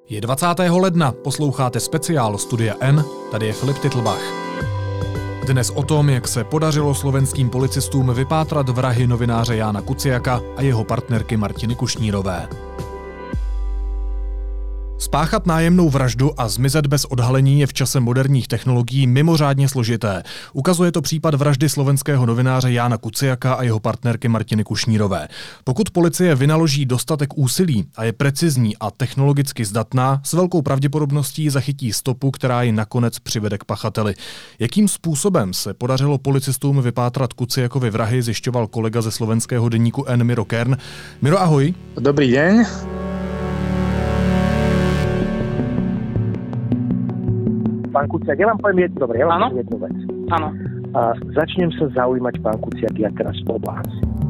Je 20. ledna, posloucháte speciál Studia N, tady je Filip Titlbach. Dnes o tom, jak se podařilo slovenským policistům vypátrat vrahy novináře Jána Kuciaka a jeho partnerky Martiny Kušnírové. Spáchat nájemnou vraždu a zmizet bez odhalení je v čase moderních technologií mimořádně složité. Ukazuje to případ vraždy slovenského novináře Jána Kuciaka a jeho partnerky Martiny Kušnírové. Pokud policie vynaloží dostatek úsilí a je precizní a technologicky zdatná, s velkou pravděpodobností zachytí stopu, která ji nakonec přivede k pachateli. Jakým způsobem se podařilo policistům vypátrat Kuciakovi vrahy, zjišťoval kolega ze slovenského deníku N Miro Kern. Miro, ahoj. Dobrý deň. Pán Kuciak, ja vám poviem jednu vec. Áno. A začnem sa zaujímať, pán Kuciak, ja teraz o vás.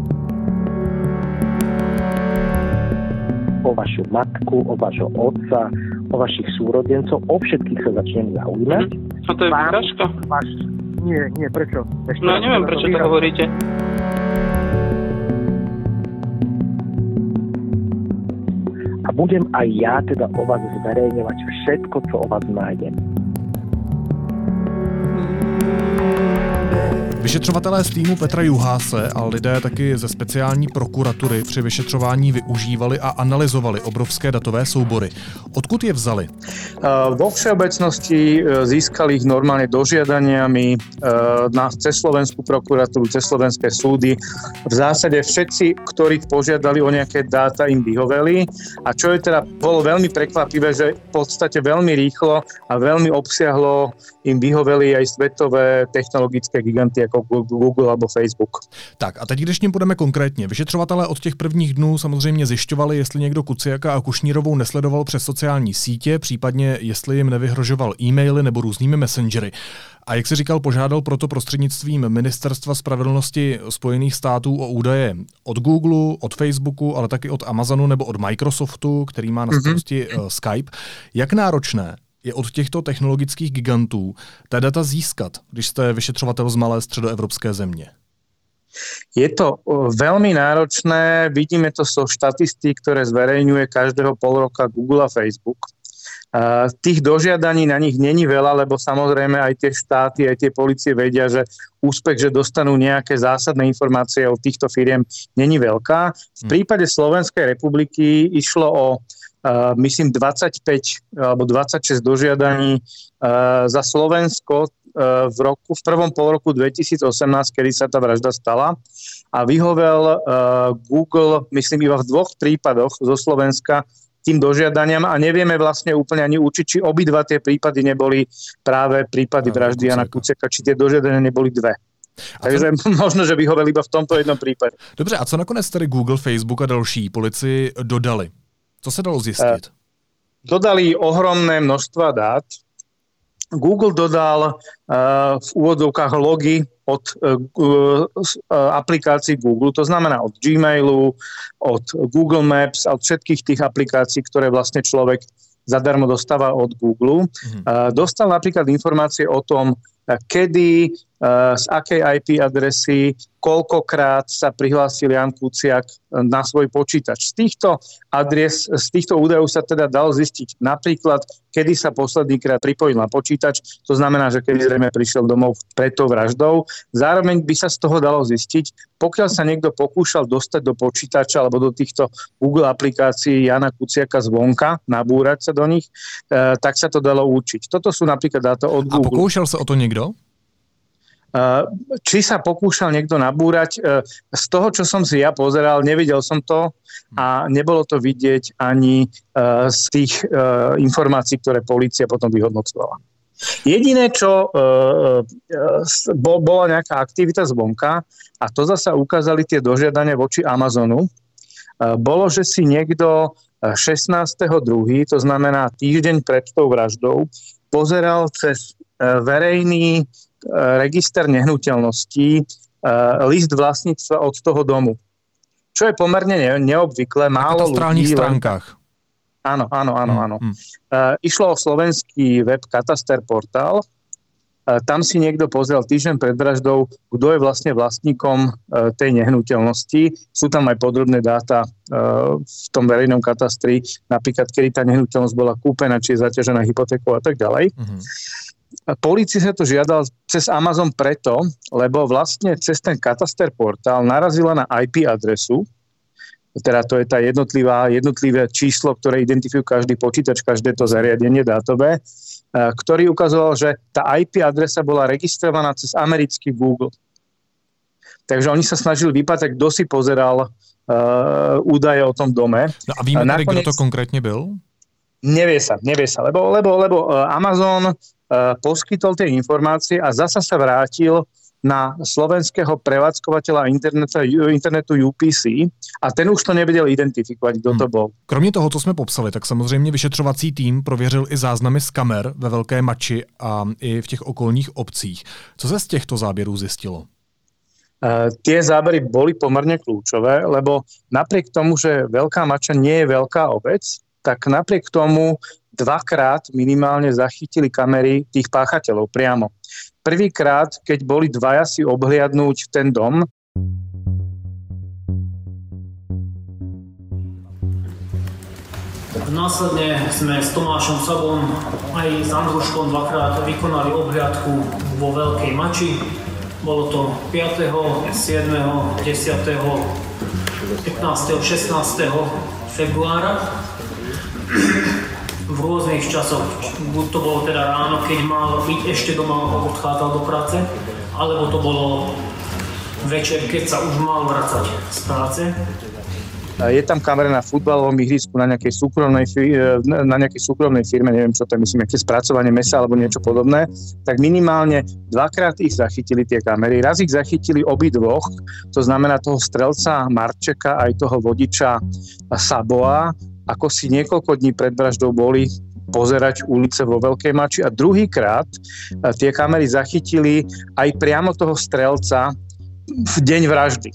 O vašu matku, o vašho otca, o vašich súrodencov, o všetkých sa začnem zaujímať. A to je výhražka? Nie, prečo? No neviem, prečo to hovoríte. A budem aj ja teda o vás zverejňovať všetko, čo o vás nájdem. Vyšetřovatelé z týmu Petra Juháse a lidé taky ze speciální prokuratury při vyšetřování využívali a analyzovali obrovské datové soubory. Odkud je vzali? Vo všeobecnosti získali ich normálne dožiadaniami cez slovenskú prokuratúru, cez slovenské súdy. V zásade všetci, ktorých požiadali o nejaké dáta, im vyhoveli. A čo je teda bolo veľmi prekvapivé, že v podstate veľmi rýchlo a veľmi obsiahlo im vyhoveli aj svetové technologické giganty jako Google alebo Facebook. Tak a teď, když ním půjdeme konkrétně. Vyšetřovatelé od těch prvních dnů samozřejmě zjišťovali, jestli někdo Kuciaka a Kušnírovou nesledoval přes sociální sítě, případně jestli jim nevyhrožoval e-maily nebo různými messengery. A jak si říkal, požádal proto prostřednictvím Ministerstva spravedlnosti Spojených států o údaje od Google, od Facebooku, ale taky od Amazonu nebo od Microsoftu, který má na starosti Skype. Jak náročné je od těchto technologických gigantů ta data získat, když jste vyšetřovatel z malé středoevropské země? Je to veľmi náročné, vidíme to zo štatistík, ktoré zverejňuje každého pol roka Google a Facebook. Tých dožiadaní na nich není veľa, lebo samozrejme aj tie štáty, aj tie polície vedia, že úspech, že dostanú nejaké zásadné informácie od týchto firiem, není veľká. V prípade Slovenskej republiky išlo o myslím 25 alebo 26 dožiadaní za Slovensko v prvom polroku 2018, kedy sa tá vražda stala, a vyhovel Google, myslím iba v 2 prípadoch zo Slovenska tým dožiadaniam a nevieme vlastne úplne ani určiť, či obidva tie prípady neboli práve prípady vraždy Jana Kuciaka, či tie dožiadania neboli 2. Takže možno, že vyhovel iba v tomto jednom prípade. Dobře, a co nakonec tedy Google, Facebook a další policii dodali? Co se dalo zjistit? Dodali ohromné množstva dát. Google dodal v úvodzovkách logy od aplikácií Google, to znamená od Gmailu, od Google Maps a od všetkých tých aplikácií, ktoré vlastne človek zadarmo dostáva od Google. Dostal napríklad informácie o tom, kedy, z akej IP adresy, koľkokrát sa prihlásil Ján Kuciak na svoj počítač. Z týchto údajov sa teda dalo zistiť napríklad, kedy sa poslednýkrát pripojil na počítač, to znamená, že kedy zrejme prišiel domov pred tou vraždou. Zároveň by sa z toho dalo zistiť, pokiaľ sa niekto pokúšal dostať do počítača alebo do týchto Google aplikácií Jana Kuciaka zvonka, nabúrať sa do nich, tak sa to dalo určiť. Toto sú napríklad dáta od Google. A pokúšal sa o to niekto? Či sa pokúšal niekto nabúrať, z toho, čo som si ja pozeral, nevidel som to a nebolo to vidieť ani z tých informácií, ktoré polícia potom vyhodnocovala. Jediné, čo bola nejaká aktivita zvonka, a to zasa ukázali tie dožiadania voči Amazonu, bolo, že si niekto 16.2., to znamená týždeň pred tou vraždou, pozeral cez verejný register nehnuteľností list vlastníctva od toho domu. Čo je pomerne neobvyklé. Málo ľudí... stránkach. Áno. Išlo o slovenský web Kataster portál Tam si niekto pozrel týždeň pred vraždou, kto je vlastne vlastníkom tej nehnuteľnosti. Sú tam aj podrobné dáta v tom verejnom katastri, napríklad, kedy tá nehnuteľnosť bola kúpená, či je zaťažená hypotékou a tak ďalej. Polícii sa to žiadal cez Amazon preto, lebo vlastne cez ten kataster portál narazila na IP adresu, teda to je tá jednotlivé číslo, ktoré identifikujú každý počítač, každé to zariadenie dátové, ktorý ukazoval, že tá IP adresa bola registrovaná cez americký Google. Takže oni sa snažili vypátať, kto si pozeral údaje o tom dome. No a víme tedy, kto to konkrétne byl? Nevie sa, lebo Amazon poskytol tie informácie a zasa sa vrátil na slovenského prevádzkovateľa internetu UPC a ten už to nevedel identifikovat, kdo to byl. Kromě toho, co jsme popsali, tak samozřejmě vyšetřovací tým prověřil i záznamy z kamer ve Velké Mači a i v těch okolních obcích. Co se z těchto záběrů zjistilo? Tie zábery boli pomerne kľúčové, lebo napriek tomu, že Veľká Mača nie je veľká obec, tak napriek tomu dvakrát minimálne zachytili kamery tých páchateľov priamo. Prvýkrát, keď boli dvaja si obhliadnúť ten dom. Následne sme s Tomášom Sagom aj s Andruškom dvakrát vykonali obhliadku vo Veľkej Mači. Bolo to 5., 7., 10., 15., 16. februára. V rôznych časoch, buď to bolo teda ráno, keď mal byť ešte doma, odchádzal do práce, alebo to bolo večer, keď sa už mal vracať z práce. Je tam kamera na futbalovom ihrisku na nejakej súkromnej firme, neviem čo to je, myslím, nejaké spracovanie mesa alebo niečo podobné, tak minimálne dvakrát ich zachytili tie kamery. Raz ich zachytili obidvoch, to znamená toho strelca Marčeka aj toho vodiča Saboa, ako si niekoľko dní pred vraždou boli pozerať ulice vo Veľkej Mači a druhýkrát tie kamery zachytili aj priamo toho strelca v deň vraždy.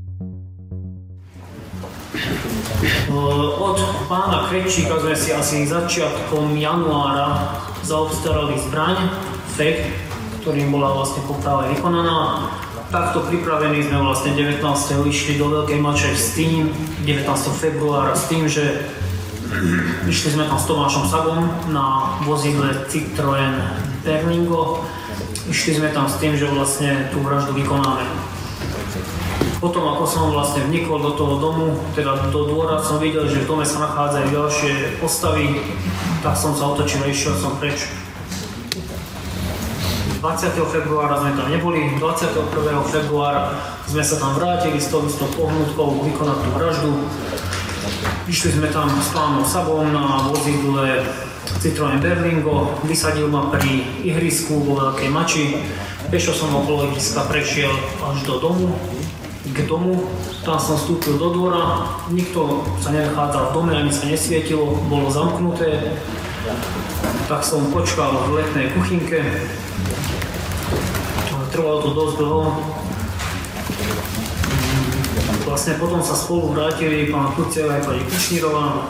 Od pána Krečíka sme si asi začiatkom januára zaobstarali zbraň, FEG, ktorým bola vlastne poprava vykonaná. Takto pripravení sme vlastne 19. išli do Veľkej Mače s tým, 19. februára s tým, že išli sme tam s Tomášom Sagom na vozidle Citroën Berlingo. Išli sme tam s tým, že vlastne tú vraždu vykonáme. Potom, ako som vlastne vnikol do toho domu, teda do dvora, som videl, že v dome sa nachádzajú ďalšie postavy, tak som sa otočil a išiel som preč. 20. februára sme tam neboli, 21. februára sme sa tam vrátili s tou pohnutkou vykonať tú vraždu. Išli sme tam s pánom Sabom na vozidle Citroën Berlingo, vysadil ma pri ihrisku vo Veľkej Mači, pešo som okolo ihriska prešiel až do domu. K domu, tam som vstúpil do dvora, nikto sa nenachádzal v dome, ani sa nesvietilo, bolo zamknuté. Tak som počkal v letnej kuchynke. Trvalo to dosť dlho. Vlastne potom sa spolu vrátili pán Kuciak aj pani Kušnírová.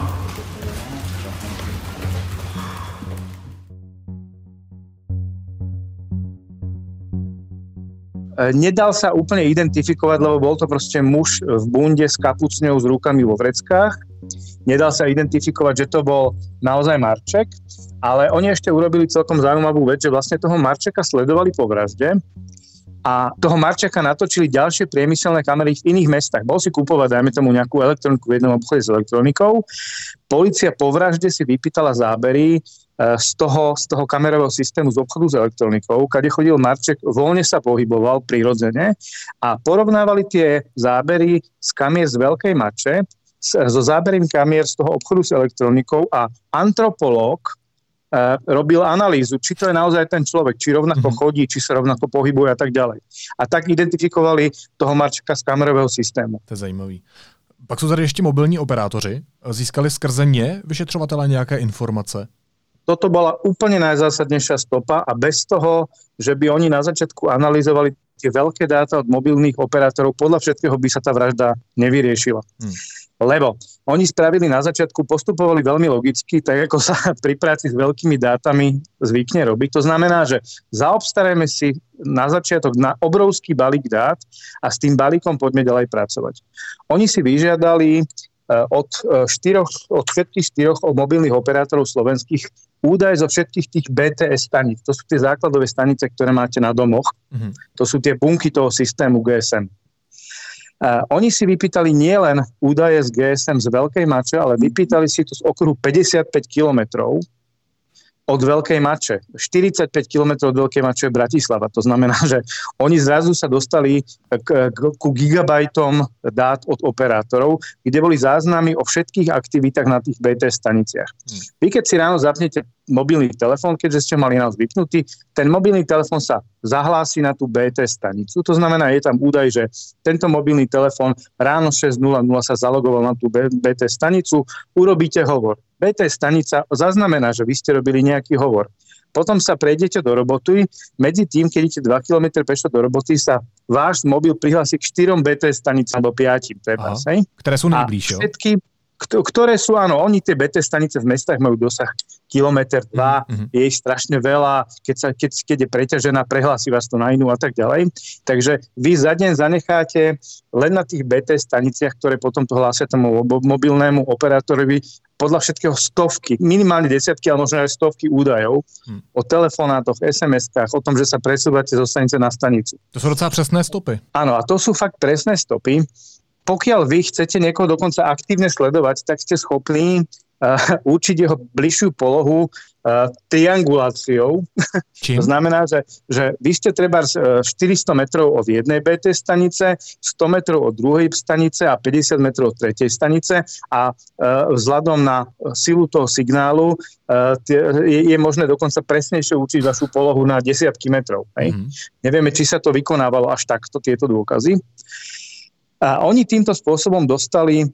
Nedal sa úplne identifikovať, lebo bol to proste muž v bunde s kapucňou s rukami vo vreckách. Nedal sa identifikovať, že to bol naozaj Marček, ale oni ešte urobili celkom zaujímavú vec, že vlastne toho Marčeka sledovali po vražde a toho Marčeka natočili ďalšie priemyselné kamery v iných mestách. Bol si kúpovať, dajme tomu, nejakú elektroniku v jednom obchode s elektronikou. Polícia po vražde si vypýtala zábery z toho kamerového systému z obchodu s elektronikou, kade chodil Marček, voľne sa pohyboval prirodzene a porovnávali tie zábery z kamier z Veľkej Mače so zábermi kamier z toho obchodu s elektronikou a antropológ robil analýzu, či to je naozaj ten človek, či rovnako chodí, či sa rovnako pohybuje a tak ďalej. A tak identifikovali toho Marčeka z kamerového systému. To je zajímavý. Pak jsou tady ještě mobilní operátoři. Získali skrze ně vyšetřovatelé nějaké informace? Toto bola úplne najzásadnejšia stopa a bez toho, že by oni na začiatku analyzovali tie veľké dáta od mobilných operátorov, podľa všetkého by sa tá vražda nevyriešila. Lebo oni spravili na začiatku, postupovali veľmi logicky, tak ako sa pri práci s veľkými dátami zvykne robiť. To znamená, že zaobstarajme si na začiatok na obrovský balík dát a s tým balíkom poďme ďalej pracovať. Oni si vyžiadali od všetkých 4 mobilných operátorov slovenských údaj zo všetkých tých BTS staníc. To sú tie základové stanice, ktoré máte na domoch. To sú tie bunky toho systému GSM. Oni si vypýtali nielen údaje z GSM z Veľkej Mače, ale vypýtali si to z okruhu 55 kilometrov od Veľkej Mače. 45 kilometrov od Veľkej Mače je Bratislava. To znamená, že oni zrazu sa dostali ku gigabajtom dát od operátorov, kde boli záznamy o všetkých aktivitách na tých BTS staniciach. Vy keď si ráno zapnete mobilný telefón, keďže ste mali nás vypnutý, ten mobilný telefón sa zahlási na tú BTS stanicu. To znamená, je tam údaj, že tento mobilný telefón ráno 6.00 sa zalogoval na tú BTS stanicu, urobíte hovor. BTS stanica zaznamená, že vy ste robili nejaký hovor. Potom sa prejdete do roboty, medzi tým, keď idete 2 km pešo do roboty, sa váš mobil prihlási k 4 BTS stanicám alebo 5. Ktoré sú najbližšie. Ktoré sú, áno, oni tie BTS stanice v mestách majú dosah kilometr, 2, je ich strašne veľa, keď je preťažená, prehlási vás to na inú a tak ďalej. Takže vy za deň zanecháte len na tých BTS staniciach, ktoré potom to hlásia tomu mobilnému operátorovi, podľa všetkého stovky, minimálne desiatky, ale možno aj stovky údajov o telefonátoch, SMS-kách, o tom, že sa presúvate zo stanice na stanicu. To sú docela presné stopy. Áno, a to sú fakt presné stopy. Pokiaľ vy chcete niekoho dokonca aktívne sledovať, tak ste schopní určiť jeho bližšiu polohu trianguláciou. To znamená, že vy ste treba 400 metrov od jednej BTS stanice, 100 metrov od druhej stanice a 50 metrov od tretej stanice a vzhľadom na silu toho signálu je možné dokonca presnejšie určiť vašu polohu na desiatky metrov. Nevieme, či sa to vykonávalo až takto, tieto dôkazy. A oni týmto spôsobom dostali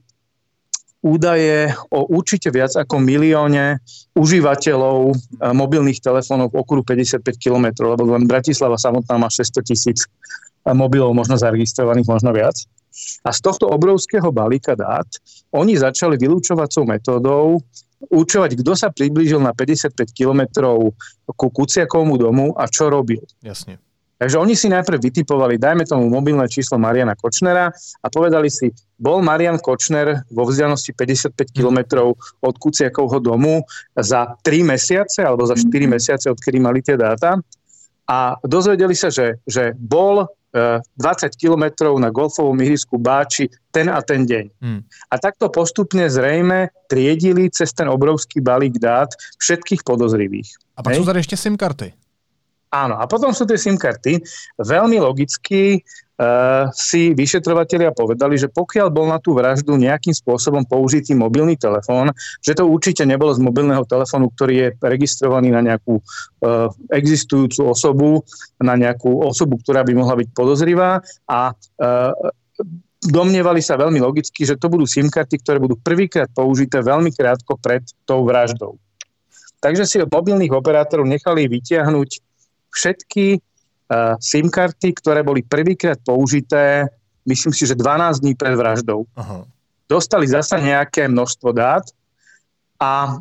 údaje o určite viac ako 1 milióne užívateľov mobilných telefónov v okruhu 55 km, lebo len Bratislava samotná má 600 000 mobilov možno zaregistrovaných, možno viac. A z tohto obrovského balíka dát oni začali vylúčovacou metódou určovať, kto sa priblížil na 55 km ku Kuciakovmu domu a čo robil. Jasne. Takže oni si najprv vytipovali, dajme tomu mobilné číslo Mariana Kočnera a povedali si, bol Marian Kočner vo vzdialenosti 55 km od Kuciakovho domu za 3 mesiace alebo za 4 mesiace, odkedy mali tie dáta. A dozvedeli sa, že bol 20 kilometrov na golfovom ihrisku Báči ten a ten deň. A takto postupne zrejme triedili cez ten obrovský balík dát všetkých podozrivých. A pak sú tady ešte SIM-karty. Áno, a potom sú tie SIM-karty. Veľmi logicky si vyšetrovatelia povedali, že pokiaľ bol na tú vraždu nejakým spôsobom použitý mobilný telefón, že to určite nebolo z mobilného telefónu, ktorý je registrovaný na nejakú existujúcu osobu, na nejakú osobu, ktorá by mohla byť podozrivá a domnievali sa veľmi logicky, že to budú SIM-karty, ktoré budú prvýkrát použité veľmi krátko pred tou vraždou. Takže si od mobilných operátorov nechali vytiahnuť všetky SIM-karty, ktoré boli prvýkrát použité, myslím si, že 12 dní pred vraždou. Aha. Dostali zasa nejaké množstvo dát a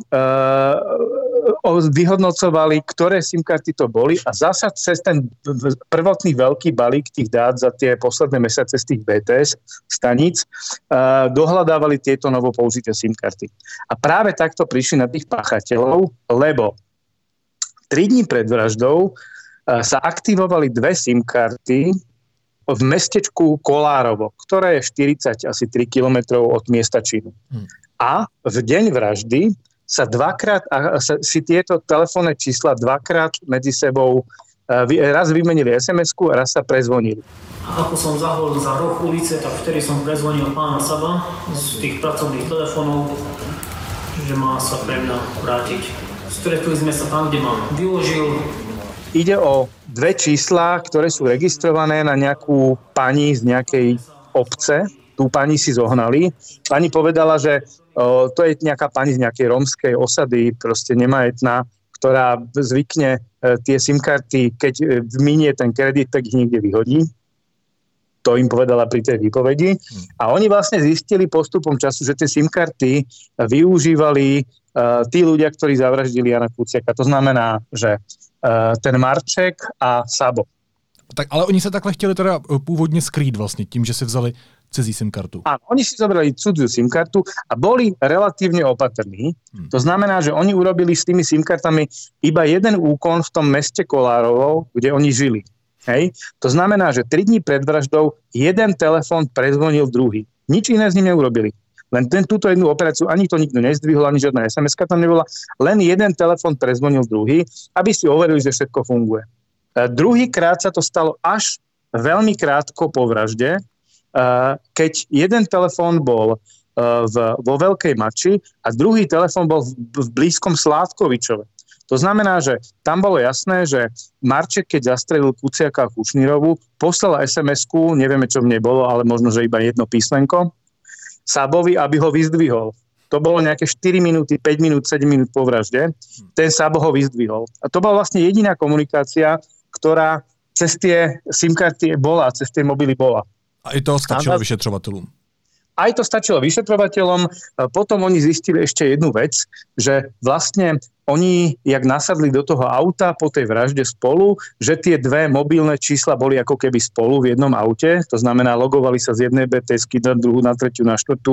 vyhodnocovali, ktoré SIM-karty to boli a zasa cez ten prvotný veľký balík tých dát za tie posledné mesiace z tých BTS staníc dohľadávali tieto novo použité SIM-karty. A práve takto prišli na tých páchateľov, lebo 3 dní pred vraždou sa aktivovali 2 SIM-karty v mestečku Kolárovo, ktoré je 40 asi 3 kilometrov od miesta činu. A v deň vraždy sa si tieto telefónne čísla dvakrát medzi sebou raz vymenili SMS-ku a raz sa prezvonili. A ako som zahol za roh ulice, tak vtedy som prezvonil pána Saba z tých pracovných telefónov, že má sa pre mňa vrátiť. Stretli sme sa tam, kde ma vyložil. Ide o 2 čísla, ktoré sú registrované na nejakú pani z nejakej obce. Tú pani si zohnali. Pani povedala, že to je nejaká pani z nejakej rómskej osady, proste nemajetná, ktorá zvykne tie SIM-karty, keď minie ten kredit, tak ich niekde vyhodí. To im povedala pri tej výpovedi. A oni vlastne zistili postupom času, že tie SIM-karty využívali tí ľudia, ktorí zavraždili Jana Kuciaka. To znamená, že ten Marček a Sabo. Tak, ale oni se takhle chtěli teda původně skrýt vlastně tím, že si vzali cizí SIM-kartu. Áno, oni si zobrali cudziu SIM-kartu a boli relatívne opatrní. To znamená, že oni urobili s tými SIM-kartami iba jeden úkon v tom meste Kolárovo, kde oni žili. Hej? To znamená, že 3 dní pred vraždou jeden telefón prezvonil druhý. Nič iné s ním neurobili. Len túto jednu operáciu ani to nikto nezdvihol, ani žiadna SMS-ka tam nebola. Len jeden telefón prezvonil druhý, aby si overili, že všetko funguje. Druhýkrát sa to stalo až veľmi krátko po vražde, keď jeden telefón bol vo Veľkej Mači a druhý telefón bol v blízkom Sládkovičove. To znamená, že tam bolo jasné, že Marček, keď zastrelil Kuciaka a Kušnírovu, poslal SMS-ku, nevieme, čo v nej bolo, ale možno, že iba jedno písmenko, Sabovi, aby ho vyzdvihol. To bolo nejaké 4 minúty, 5 minút, 7 minút po vražde. Ten Sabo ho vyzdvihol. A to bola vlastne jediná komunikácia, ktorá cez tie SIM-karty bola, cez tie mobily bola. A i to stačilo vyšetrovatelům. Aj to stačilo vyšetrovateľom. Potom oni zistili ešte jednu vec, že vlastne oni, jak nasadli do toho auta po tej vražde spolu, že tie dve mobilné čísla boli ako keby spolu v jednom aute. To znamená, logovali sa z jednej BTSky na druhú, na tretiu, na štvrtú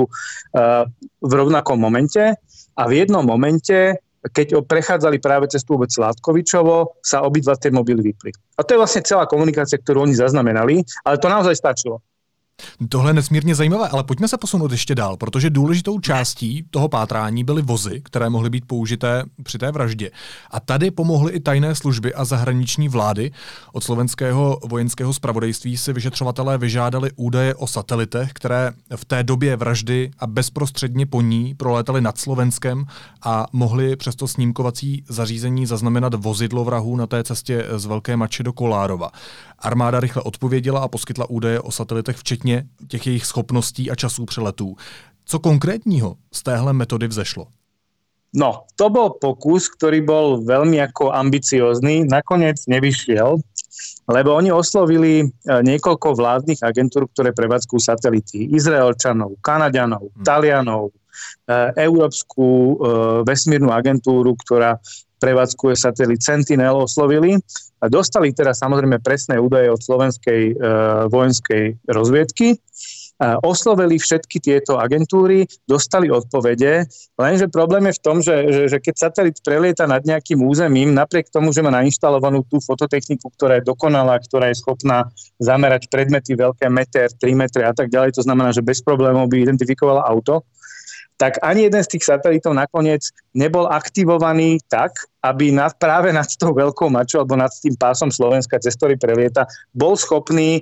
v rovnakom momente. A v jednom momente, keď prechádzali práve cez tú obec Sládkovičovo, sa obidva tie mobily vypli. A to je vlastne celá komunikácia, ktorú oni zaznamenali, ale to naozaj stačilo. Tohle je nesmírně zajímavé, ale pojďme se posunout ještě dál, protože důležitou částí toho pátrání byly vozy, které mohly být použité při té vraždě. A tady pomohly i tajné služby a zahraniční vlády. Od slovenského vojenského zpravodajství si vyšetřovatelé vyžádali údaje o satelitech, které v té době vraždy a bezprostředně po ní prolétaly nad Slovenskem a mohly přes to snímkovací zařízení zaznamenat vozidlo vrahů na té cestě z Velké Mači do Kolárova. Armáda rychle odpověděla a poskytla údaje o satelitech, včetně těch jejich schopností a časů přeletů. Co konkrétního z téhle metody vzešlo? No, to bol pokus, ktorý bol veľmi ako ambiciózny. Nakoniec nevyšiel, lebo oni oslovili niekoľko vládnych agentúr, ktoré prevádzkujú satelity. Izraelčanov, Kanaďanov, Talianov, Európsku vesmírnu agentúru, ktorá prevádzkuje satelit Sentinel, oslovili. A dostali teraz samozrejme presné údaje od slovenskej vojenskej rozviedky. Oslovili všetky tieto agentúry, dostali odpovede, lenže problém je v tom, že keď satelit prelieta nad nejakým územím, napriek tomu, že má nainštalovanú tú fototechniku, ktorá je dokonalá, ktorá je schopná zamerať predmety veľké meter, 3 metre a tak ďalej, to znamená, že bez problémov by identifikovala auto, tak ani jeden z tých satelitov nakoniec nebol aktivovaný tak, aby práve nad tou Veľkou Mačou alebo nad tým pásom Slovenska, cez ktorý prelieta, bol schopný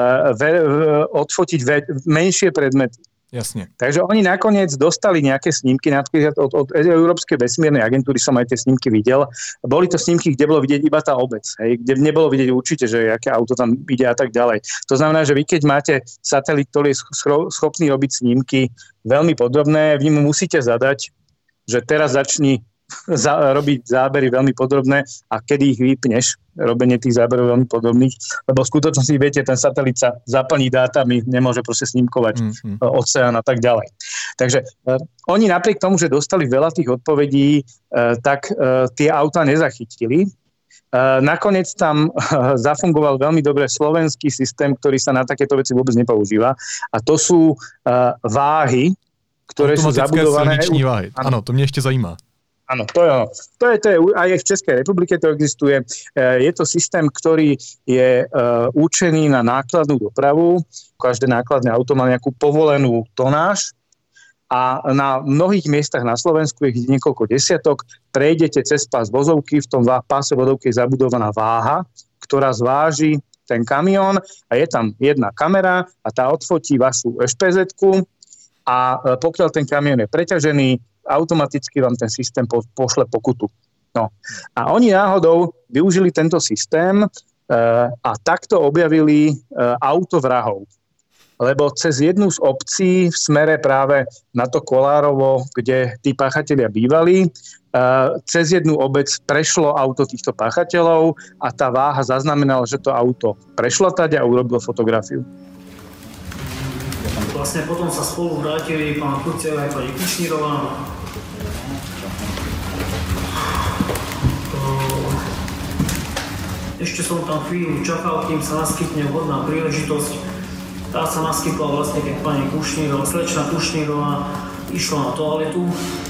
odfotiť menšie predmety. Jasne. Takže oni nakoniec dostali nejaké snímky, od Európskej vesmírnej agentúry som aj tie snímky videl. Boli to snímky, kde bolo vidieť iba tá obec, hej, kde nebolo vidieť určite, že aké auto tam ide a tak ďalej. To znamená, že vy keď máte satelit, ktorý je schopný robiť snímky veľmi podrobné, vy mu musíte zadať, že teraz začni robiť zábery veľmi podrobné a kedy ich vypneš, robenie tých záberov veľmi podrobných, lebo v skutočnosti, viete, ten satelit sa zaplní dátami, nemôže proste snímkovať oceán a tak ďalej. Takže oni napriek tomu, že dostali veľa tých odpovedí, tak tie auta nezachytili. Nakoniec tam zafungoval veľmi dobre slovenský systém, ktorý sa na takéto veci vôbec nepoužíva, a to sú váhy, ktoré sú zabudované. Silniční váhy. Ano, to mě ještě zajímá. Áno, to je ono. To je aj v Českej republike to existuje. Je to systém, ktorý je určený na nákladnú dopravu. Každé nákladné auto má nejakú povolenú tonáž a na mnohých miestach na Slovensku, ich niekoľko desiatok, prejdete cez pás vozovky, v tom páse vozovky je zabudovaná váha, ktorá zváži ten kamión a je tam jedna kamera a tá odfotí vašu ešpezetku a pokiaľ ten kamión je preťažený, automaticky vám ten systém pošle pokutu. No. A oni náhodou využili tento systém a takto objavili auto vrahov. Lebo cez jednu z obcí v smere práve na to Kolárovo, kde tí páchatelia bývali, cez jednu obec prešlo auto týchto páchateľov a tá váha zaznamenala, že to auto prešlo tady a urobil fotografiu. Vlastne potom sa spolu vrátili pán Kuciak aj pani Kušnírová. Ešte som tam chvíľu čakal, kým sa naskytne vhodná príležitosť. Tá sa naskytla vlastne, keď pani Kušnírová, slečna Kušnírová išla na toaletu.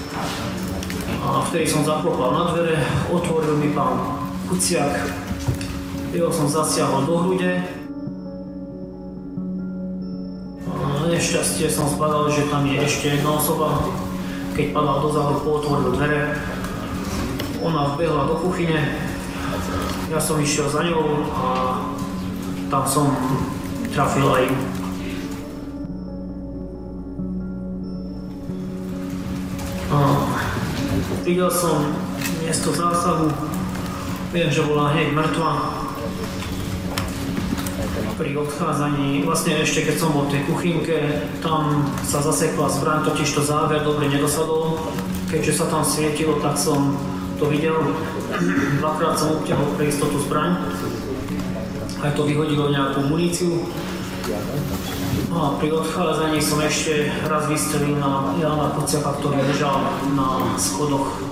A vtedy som zaklopal na dvere, otvoril mi pán Kuciak. Jeho som zasiahol do hrude. A nešťastie som zbadal, že tam je ešte jedna osoba. Keď padal do záhorku, otvoril dvere. Ona vbehla do kuchyne. Ja som išiel za ňou a tam som trafil aj ju. Videl som miesto zásahu, viem, že bola hneď mŕtva. Pri odchádzaní, vlastne ešte keď som bol v tej kuchynke, tam sa zasekla zbraň, totiž to záver dobre nedosadol. Keďže sa tam svietilo, tak som to videl. Dvakrát som obtiahol pre istotu zbraň. Aj to vyhodilo nejakú muníciu. A pri odchádzaní som ešte raz vystrelil na Jána Kuciaka, ktorý ležal na schodoch.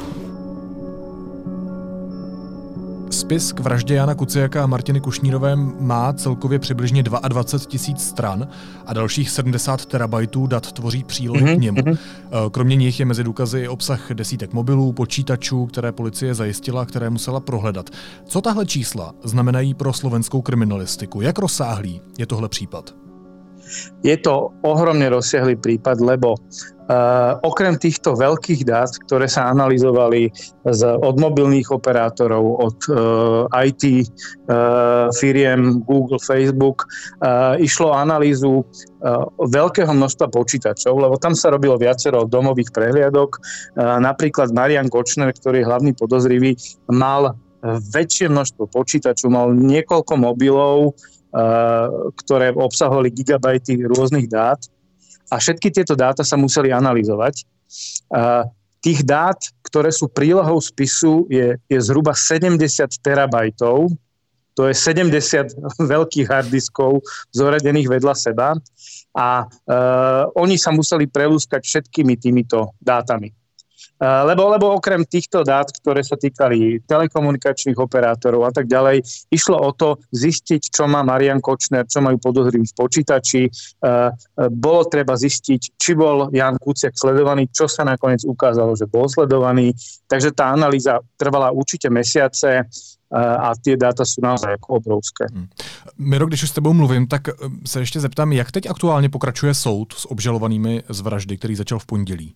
Spis k vraždě Jana Kuciaka a Martiny Kušnírové má celkově přibližně 22 000 stran a dalších 70 terabajtů dat tvoří přílohy k němu. Kromě nich je mezi důkazy i obsah desítek mobilů, počítačů, které policie zajistila a které musela prohledat. Co tahle čísla znamenají pro slovenskou kriminalistiku? Jak rozsáhlý je tohle případ? Je to ohromne rozsiahlý prípad, lebo okrem týchto veľkých dát, ktoré sa analyzovali od mobilných operátorov, od IT firiem, Google, Facebook, išlo o analýzu veľkého množstva počítačov, lebo tam sa robilo viacero domových prehliadok. Napríklad Marian Kočner, ktorý je hlavný podozrivý, mal väčšie množstvo počítačov, mal niekoľko mobilov, ktoré obsahovali gigabajty rôznych dát a všetky tieto dáta sa museli analyzovať. Tých dát, ktoré sú prílohou spisu, je zhruba 70 terabajtov. To je 70 veľkých harddiskov zoradených vedľa seba a oni sa museli prelúskať všetkými týmito dátami. Lebo okrem týchto dát, ktoré sa týkali telekomunikačných operátorov a tak ďalej, išlo o to zistiť, čo má Marian Kočner, čo majú podozriví v počítači. Bolo treba zistiť, či bol Ján Kuciak sledovaný, čo sa nakoniec ukázalo, že bol sledovaný. Takže tá analýza trvala určite mesiace a tie dáta sú naozaj obrovské. Miro, když už s tebou mluvím, tak se ještě zeptám, jak teď aktuálně pokračuje soud s obžalovanými z vraždy, který začal v pondělí?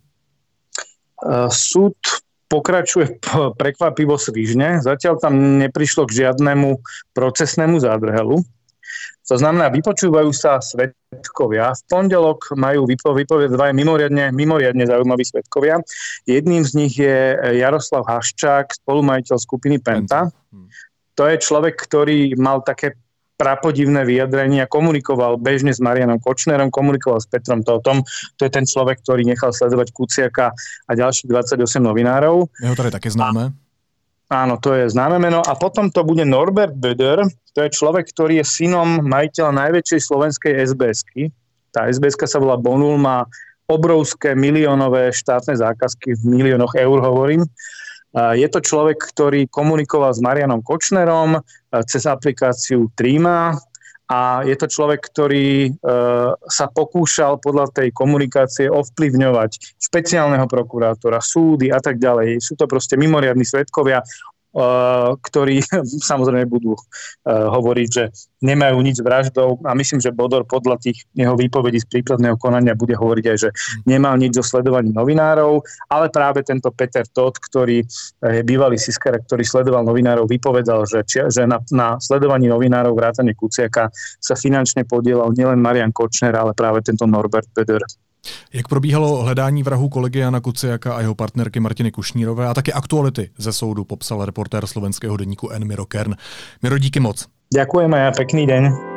Súd pokračuje prekvapivo svižne. Zatiaľ tam neprišlo k žiadnemu procesnému zádrhelu. To znamená, vypočúvajú sa svedkovia. V pondelok majú vypovedať dva mimoriadne zaujímaví svedkovia. Jedným z nich je Jaroslav Haščák, spolumajiteľ skupiny Penta. To je človek, ktorý mal také prapodivné vyjadrenia, komunikoval bežne s Marianom Kočnerom, komunikoval s Petrom Totom. To je ten človek, ktorý nechal sledovať Kuciaka a ďalších 28 novinárov. Jeho to je také známe. Áno, to je známe meno. A potom to bude Norbert Böder, to je človek, ktorý je synom majiteľa najväčšej slovenskej SBS-ky. Tá SBS-ka sa volá Bonul, má obrovské miliónové štátne zákazky, v miliónoch eur hovorím. Je to človek, ktorý komunikoval s Marianom Kočnerom cez aplikáciu Trima a je to človek, ktorý sa pokúšal podľa tej komunikácie ovplyvňovať špeciálneho prokurátora, súdy a tak ďalej. Sú to proste mimoriadni svedkovia, ktorí samozrejme budú hovoriť, že nemajú nič s vraždou a myslím, že Bodor podľa tých jeho výpovedí z príkladného konania bude hovoriť aj, že nemal nič so sledovaním novinárov, ale práve tento Peter Todt, ktorý je bývalý siskar, ktorý sledoval novinárov, vypovedal, že na sledovaní novinárov vrátane Kuciaka sa finančne podielal nielen Marian Kočner, ale práve tento Norbert Böder. Jak probíhalo hledání vrahů kolegy Jana Kuciaka a jeho partnerky Martiny Kušnírové a také aktuality ze soudu popsal reportér slovenského deníku N. Miro Kern. Miro, díky moc. Ďakujem a pekný deň.